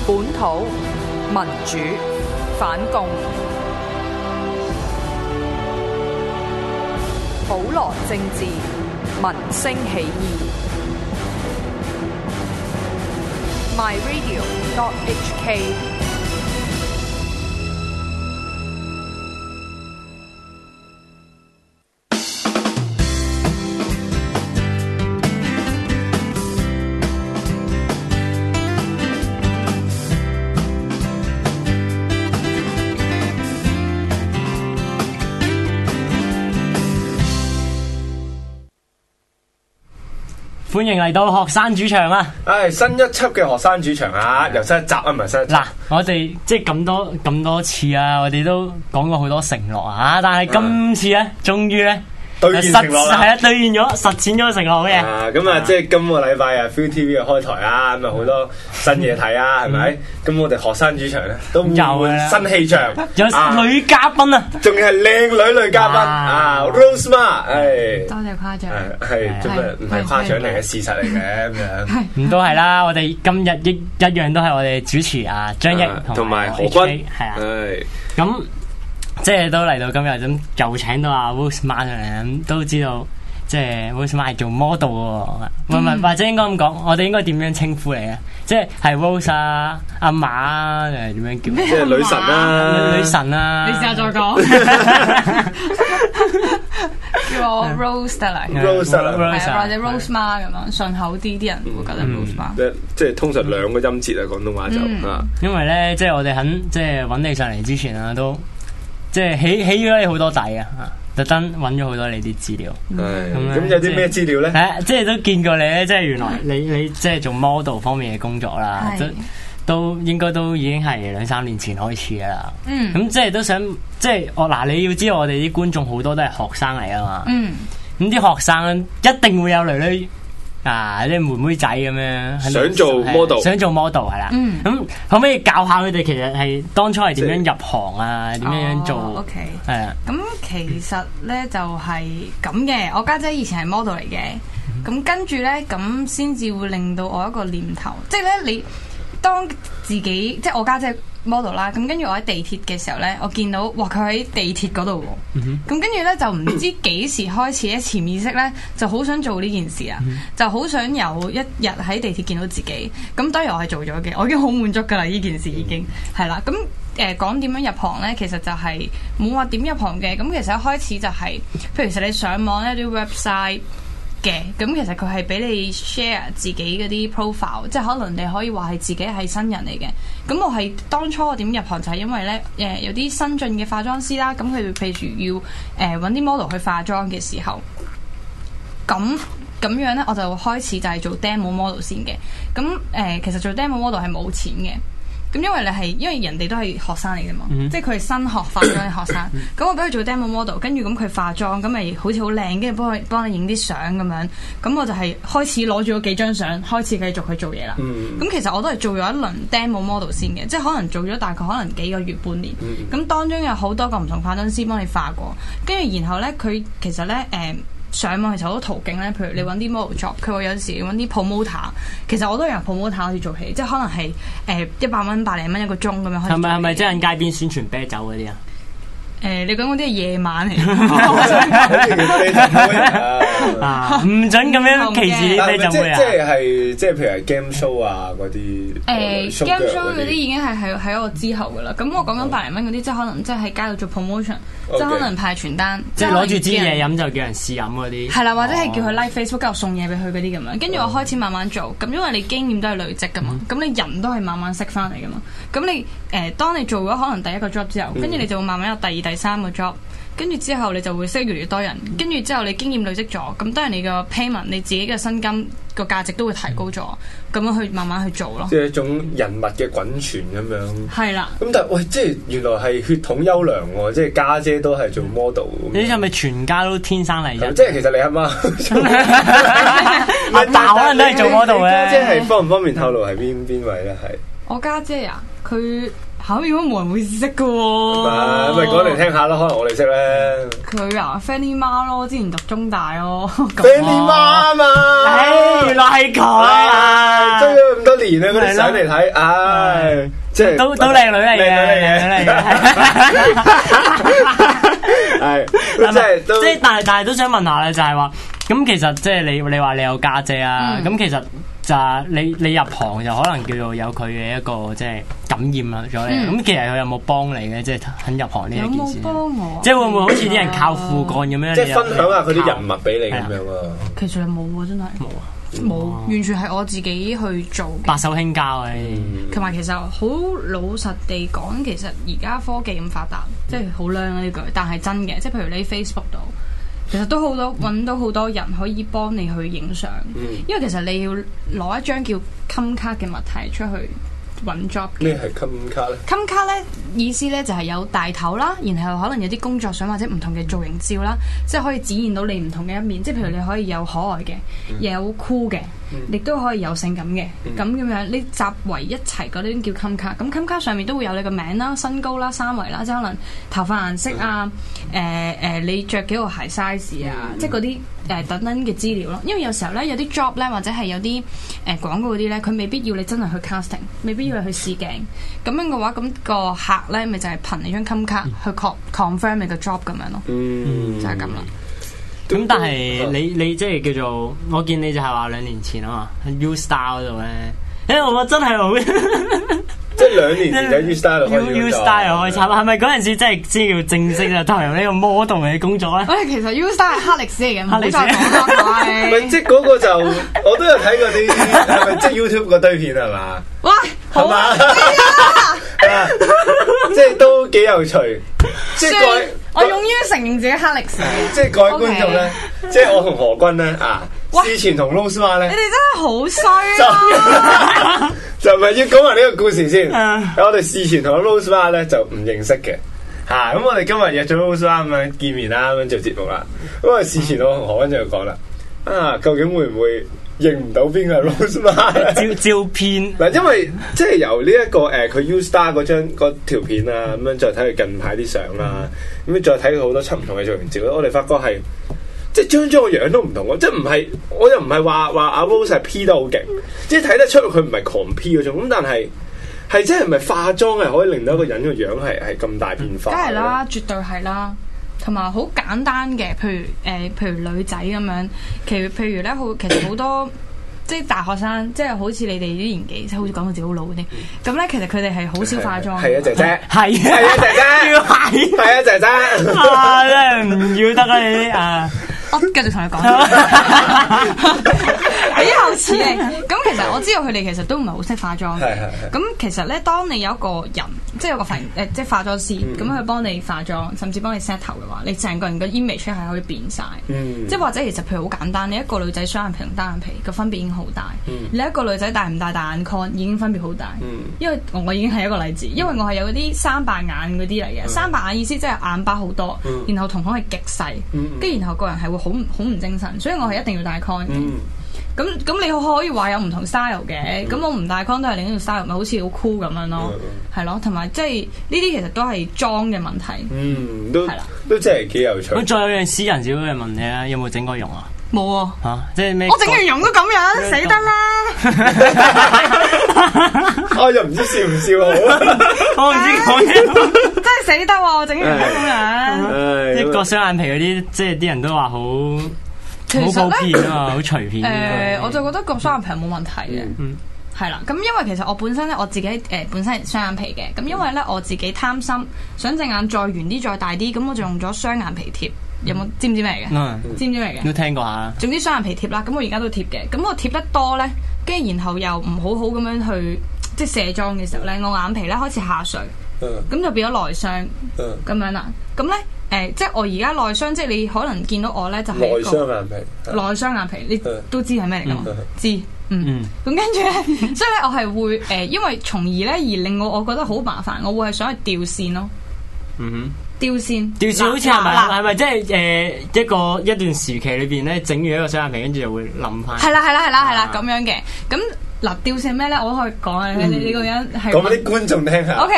本土民主反共，普羅政治民聲起義。myradio.hk 歡迎嚟到學生主場啊！ 新一輯嘅學生主場啊，又新一集啊，唔係新一集。 嗱，我哋即係咁多次啊，我哋都講過好多承諾啊，但係今次咧，終於咧兌現承諾啦， 係啊，兌現咗，實踐咗承諾嘅。 咁啊，即係今個禮拜啊 ViuTV 嘅開台啊，咁啊好多新嘢睇啊，係咪？咁我哋學生主場咧都有新氣象， 有女嘉賓啊， 仲要係靚女嘉賓啊 ，Rose Ma， 多謝誇獎， 係真係唔係誇獎嚟嘅事實嚟嘅咁樣。 咁都係啦，我哋今日一樣都係我哋主持啊張益同埋何君， 係啊，咁。即係都嚟到今日咁，又請到阿 Rose Ma 上嚟，咁都知道即係 Rose Ma 係做 model 喎，或者應該咁講，我哋應該點樣稱呼你啊？即係 Rose 啊、阿馬啊，定係點樣叫？ 即係女神啦， 女神啊！ 你試下再講，叫我 Rose 得啦 ，Rose 得啦， 或者 Rose Ma 咁樣順口啲，啲人會覺得 Rose Ma。 即係通常兩個音節啊，廣東話就因為咧，即係我哋肯即係揾你上嚟之前啊，都。即係起咗你好多底啊！特登揾咗好多你啲資料。 咁有啲咩資料咧？ 即係都見過你咧，即係原來你即係做 model 方面嘅工作啦，都應該都已經係2-3年前開始噶啦。咁即係都想即係你要知道我哋啲觀眾好多都係學生嚟啊嘛。咁啲學生一定會有女啲妹妹仔咁樣想做 model 係啦。咁可唔可以教下佢哋其實係當初係點樣入行啊？點樣做 ？OK， 係啊。 咁其實咧就係咁嘅。我家姐以前係 model 嚟嘅，咁跟住咧咁先至會令到我一個念頭，即係咧你當自己即係我家姐 model 啦，咁跟住我喺地鐵嘅時候咧，我見到哇佢喺地鐵嗰度喎，咁跟住咧就唔知幾時開始咧潛意識咧就好想做呢件事啊，就好想有一日喺地鐵見到自己，咁當然我係做咗嘅，我已經好滿足噶啦，呢件事已經係啦，咁講點樣入行咧，其實就係冇話點入行嘅，咁其實一開始就係，譬如其實你上網咧啲 website。嘅咁其實佢係俾你 share 自己嗰啲 profile， 即係可能你可以話係自己係新人嚟嘅。咁我係當初我點入行就係因為咧有啲新進嘅化妝師啦，咁佢哋譬如要揾啲 model 去化妝嘅時候，咁樣咧我就開始就係做 demo model 先嘅。咁其實做 demo model 係冇錢嘅。咁因為人哋都係學生嚟嘅嘛，即係佢係新學化妝嘅學生。咁我俾佢做 demo model， 跟住咁佢化妝，咁咪好似好靚，跟住幫你影啲相咁樣。咁我就係開始攞住嗰幾張相，開始繼續去做嘢啦。咁其實我都係做咗一輪 demo model 先嘅，即係可能做咗大概可能幾個月半年。咁當中有好多個唔同化妝師幫你化過，跟住然後咧佢其實咧上網其實好多途徑咧，譬如你揾啲 model job， 佢會有時揾啲 promoter， 其實我都由 promoter 開始做起，即係可能係100蚊、100零蚊一個鐘咁樣開始。 係咪即係喺街邊宣傳啤酒嗰啲啊？ 你講嗰啲係夜晚嚟， 唔准咁樣歧視啲啤酒妹啊！ 即係譬如係 game show 啊嗰啲 ，game show 嗰啲已經係喺我之後噶啦。咁我講緊100零蚊嗰啲，即係可能即係喺街度做 promotion， 即係可能派傳單， 即係攞住支嘢飲就叫人試飲嗰啲。 係啦，或者係叫佢 like Facebook， 跟住送嘢俾佢嗰啲咁樣。跟住我開始慢慢做，咁因為你經驗都係累積噶嘛，咁你人都係慢慢識翻嚟噶嘛。咁你當你做咗可能第一個 job 之後，跟住你就會慢慢有第2、第3個 job， 跟住之後你就會識越嚟越多人，跟住之後你經驗累積咗，咁當然你個 payment 你自己嘅薪金個價值都會提高咗，咁樣去慢慢去做咯。 即係一種人物嘅滾傳咁樣。 係啦。咁但係喂，即係原來係血統優良喎，即係家姐都係做 model。 你係咪全家都天生麗質？ 即係其實你阿媽， 阿爸可能都係做 model 嘅。 即係方唔方便透露係邊位咧？係我家姐啊，佢嚇，應該冇人會識嘅喎。 咪講嚟聽下咯，可能我哋識咧。 佢啊 Fanny 媽咯，之前讀中大咯。 Fanny 媽啊嘛， 原來係佢啊！ 追咗咁多年啦，嗰啲相嚟睇，唉，即係都靚女嚟嘅，靚女嚟嘅。 係，即係但係都想問下咧，就係話咁其實即係你話你有家姐啊，咁其實就係你入行就可能叫做有佢嘅一個即係感染啦咗你。咁其實佢有冇幫你嘅？即係肯入行呢一件事？ 有冇幫我？ 即係會唔會好似啲人靠父幹咁樣？ 即係分享下佢啲人物俾你咁樣啊？ 其實冇喎，真係冇啊。冇，完全係我自己去做嘅， 白手興家嘅。 同埋其實好老實地講，其實而家科技咁發達，即係好靚啊呢句，但係真嘅，即係譬如你 Facebook 度，其實都好多揾到好多人可以幫你去影相，因為其實你要攞一張叫襟卡嘅物體出去揾 job。 咩係襟卡咧？ 襟卡咧意思咧就係有大頭啦，然後可能有啲工作相或者唔同嘅造型照啦，即係可以展現到你唔同嘅一面。即係譬如你可以有可愛嘅，有酷嘅，亦都可以有性感嘅。咁樣你集為一齊嗰啲叫襟卡。咁襟卡上面都會有你個名啦、身高啦、三圍啦，即係可能頭髮顏色啊、你着幾個鞋 size 啊，即係嗰啲等等嘅資料咯。因為有時候咧有啲 job 咧或者係有啲廣告嗰啲咧，佢未必要你真係去 casting，未必要你去試鏡。咁樣嘅話，咁個客咧咪就係憑你張襟卡去 confirm 你個 job 咁樣咯，就係咁啦。 咁但係你即係叫做，我見你就係話2年前啊嘛，U Star 嗰度咧，我真係好， 即係2年前喺 U Star 度開始 U Star 又開係咪嗰陣時真係先叫正式啊投入呢個 model 嘅工作咧？ 喂，其實 U Star 係黑歷史嚟嘅，唔好再講啦， 喂，即係嗰個就我都有睇過啲，係咪即係 YouTube 嗰堆片係嘛？ 喂，好啊！ 即係都幾有趣，即係各位， 我勇於承認自己黑歷史嘅。 即係各位觀眾咧，即係我同何君咧事前同 Rose Ma 咧， 你哋真係好衰啊！ 就唔係要講埋呢個故事先。我哋事前同 Rose Ma 咧就唔認識嘅咁我哋今日約咗 Rose Ma 咁樣見面啦，咁樣做節目啦。咁啊事前我同何君就講啦，究竟會唔會認唔到邊個係 Rose Ma 照片嗱，因為即係由呢一個佢 U Star 嗰條片啊，咁樣再睇佢近排啲相啦，咁樣再睇佢好多輯唔同嘅造型照，我哋發覺係即係張個樣都唔同喎，即係唔係我又唔係話阿 Rose 係 P 得好勁，即係睇得出佢唔係狂 P 嗰種，咁但係即係唔係化妝係可以令到一個人個樣係咁大變化？ 梗係啦，絕對係啦。同埋好簡單嘅，譬如女仔咁樣，譬如咧其實好多即係大學生，即係好似你哋啲年紀，即係好似講到自己好老嗰啲，咁咧其實佢哋係好少化妝。 係啊，姐姐， 係啊，姐姐，要係啊，姐姐， 真係唔要得啊你我繼續同你講，以後似你。咁其實我知道佢哋其實都唔係好識化妝嘅。咁其實咧，當你有一個人，即係有個即係化妝師，咁佢幫你化妝，甚至幫你 set 頭嘅話，你成個人嘅 image 係可以變晒。即係或者其實譬如好簡單，你一個女仔雙眼皮同單眼皮個分別已經好大。你一個女仔戴唔戴大眼 con 已經分別好大。因為我已經係一個例子，因為我係有嗰啲三白眼嗰啲嚟嘅。三白眼意思即係眼巴好多，然後瞳孔係極細，跟住然後個人係會好唔精神，所以我係一定要戴 con 嘅。咁你可以話有唔同 style 嘅，咁我唔戴 con 都係另一條 style，咪好似好 cool 咁樣咯，係咯，同埋即係呢啲其實都係妝嘅問題， 都係啦，都真係幾有趣。 咁再有樣私人少嘅問你啊，有冇整過容啊？ 冇啊， 即係咩？ 我整完容都咁樣，死得啦！ 我又唔知笑唔笑好， 我唔知講咩， 真係死得喎！我整完咁樣， 一個雙眼皮嗰啲，即係啲人都話好普遍啊嘛，好隨便。 我就覺得個雙眼皮係冇問題嘅，係啦。咁因為其實我本身咧，我自己本身係雙眼皮嘅，咁因為咧我自己貪心，想隻眼再圓啲、再大啲，咁我就用咗雙眼皮貼。有冇知唔知咩嚟嘅？知唔知咩嚟嘅？ 都聽過下。總之雙眼皮貼啦，咁我而家都貼嘅。咁我貼得多咧，跟住然後又唔好好咁樣去即係卸妝嘅時候咧，我眼皮咧開始下垂，咁就變咗內雙咁樣啦。咁咧即係我而家內雙，即係你可能見到我咧就係內雙眼皮。 內雙眼皮，你都知係咩嚟㗎嘛？知咁跟住咧，所以咧我係會因為從而咧而令我覺得好麻煩，我會係想去掉線咯。掉線好似係咪即係一段時期裏邊咧整完一個雙眼皮，跟住就會冧翻？ 係啦咁樣嘅。咁嗱，吊線咩咧？我都可以講啊！你個人係講俾啲觀眾聽下。 O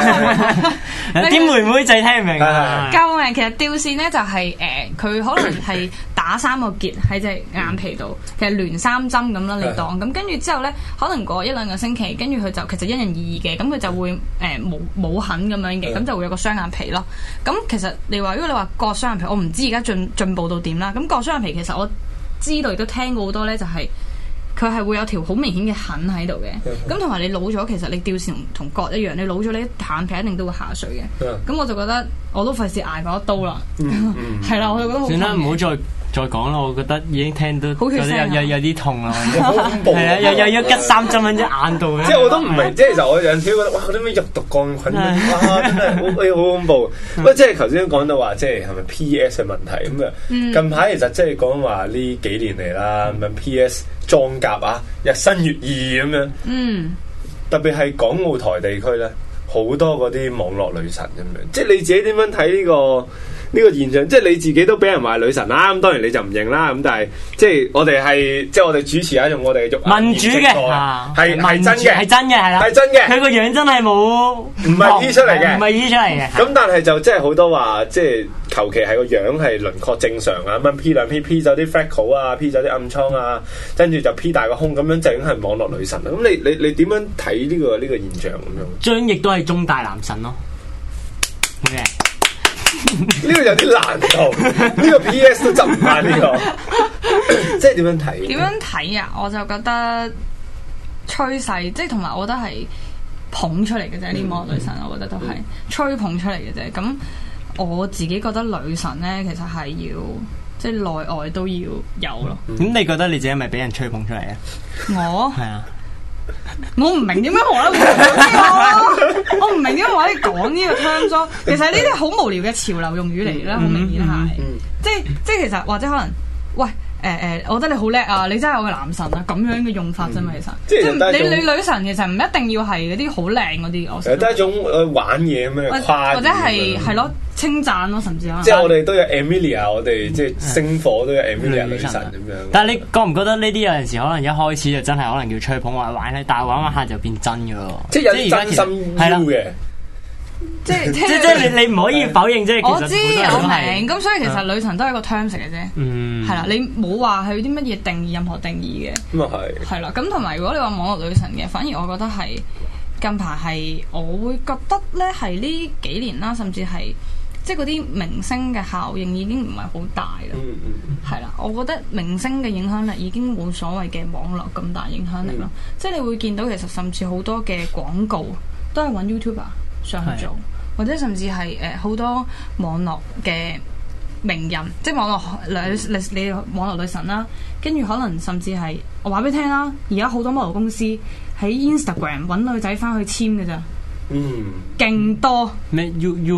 K， 啲妹妹仔聽唔明啊？ 救命！其實吊線咧就係佢可能係打3個結喺隻眼皮度，其實連3針咁啦，你當咁跟住之後咧，可能過1-2個星期，跟住佢就其實因人而異嘅，咁佢就會冇痕咁樣嘅，咁就會有個雙眼皮咯。咁其實如果你話割雙眼皮，我唔知而家進步到點啦。咁割雙眼皮其實我知道亦都聽過好多咧，就係佢係會有條好明顯嘅痕喺度嘅。咁同埋你老咗，其實你吊線同割一樣，你老咗你眼皮一定都會下垂嘅。咁我就覺得我都費事捱嗰一刀啦。係啦，我就覺得好。 算啦，唔好再講啦，我覺得已經聽到有啲痛啦， 好恐怖。 係啊，又要拮3針喺隻眼度。 即係我都唔明，即係其實我有陣時覺得哇，啲咩入毒桿菌哇，真係好恐怖。不過即係頭先講到話，即係係咪 PS 嘅問題咁啊？近排其實即係講話呢幾年嚟啦，咁樣 PS 裝甲啊，日新月異咁樣。特別係港澳台地區咧，好多嗰啲網絡女神咁樣。即係你自己點樣睇呢個現象？即係你自己都俾人話女神啦，咁當然你就唔認啦。咁但係即係我哋係即係我哋主持下用我哋嘅民主嘅係真嘅， 係真嘅，係啦， 係真嘅。 佢個樣真係冇唔係 P 出嚟嘅， 唔係 P 出嚟嘅。 咁但係就即係好多話，即係求其係個樣係輪廓正常啊，咁 P 2 P 走啲 freckle 啊，P 走啲暗瘡啊，跟住就 P 大個胸咁樣，就已經係網絡女神啦。咁你點樣睇呢個現象咁樣？ 張譯都係中大男神咯。Okay. 呢個有啲難度，呢個 PS 都執唔翻呢個，即係點樣睇？ 點樣睇啊？我就覺得趨勢，即係同埋我覺得係捧出嚟嘅啫。呢啲網絡女神，我覺得都係吹捧出嚟嘅啫。咁我自己覺得女神咧，其實係要即係內外都要有咯。 咁你覺得你自己係咪俾人吹捧出嚟啊？ 我係啊。 我唔明點解可能講我唔明點解可以講呢個 terms 咯。其實呢啲好無聊嘅潮流用語嚟啦，好明顯係，即係其實或者可能，喂我覺得你好叻啊，你真係我嘅男神啊，咁樣嘅用法啫嘛，其實即係你女神其實唔一定要係嗰啲好靚嗰啲，我成日都係一種玩嘢咁樣誇， 或者係咯稱讚咯，甚至可能即係我哋都有 Emilia， 我哋即係星火都有 Emilia 女神咁樣。 但係你覺唔覺得呢啲有陣時可能一開始就真係可能叫吹捧或者玩咧，但係玩下就變真嘅喎， 即係有啲真心係嘅。 即係你唔可以否認，即係我知我明，咁所以其實女神都係一個 terms 嚟嘅啫，係啦，你冇話佢啲乜嘢定義，任何定義嘅， 咁啊係啦，咁同埋如果你話網絡女神嘅，反而我覺得係近排係我會覺得咧係呢幾年啦，甚至係即係嗰啲明星嘅效應已經唔係好大啦，係啦，我覺得明星嘅影響力已經冇所謂嘅網絡咁大影響力咯，即係你會見到其實甚至好多嘅廣告都係揾 YouTuber上去做，或者甚至係好多網絡嘅名人，即係網絡女神啦，跟住可能甚至係我話俾你聽啦，而家好多 model 公司喺 Instagram 揾女仔翻去簽嘅咋，勁多咩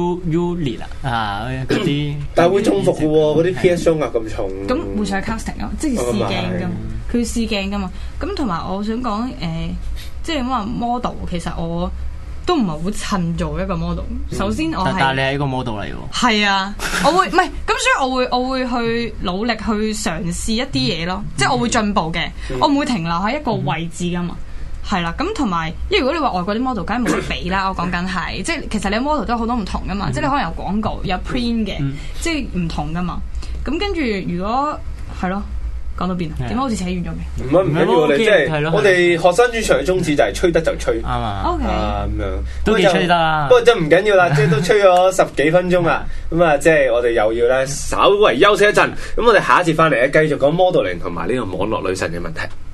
U 啊嗰啲， 但係會中伏嘅喎，嗰啲 PS 雙壓咁重， 咁會上 casting 啊，即係試鏡㗎嘛，佢要試鏡㗎嘛，咁同埋我想講即係咁話 model， 其實我都唔係好襯做一個 model。首先我係， 但係你係一個 model 嚟喎。 係啊，我會唔係咁，所以我會去努力去嘗試一啲嘢咯，即係我會進步嘅，我唔會停留喺一個位置噶嘛。係啦，咁同埋，因為如果你話外國啲 model，梗係冇得比啦。我講緊係，即係其實你 model 都有好多唔同噶嘛，即係你可能有廣告、有 print 嘅，即係唔同噶嘛。咁跟住如果係咯。講到邊啊？點解好似扯遠咗嘅？ 唔緊要，我哋即係我哋學生主場嘅宗旨就係吹得就吹， 啱啊。 OK， 咁樣都幾吹得啦。 不過真唔緊要啦，即係都吹咗10幾分鐘啦。咁啊，即係我哋又要咧稍微休息一陣。咁我哋下一節翻嚟咧，繼續講 modeling 同埋呢個網絡女神嘅問題。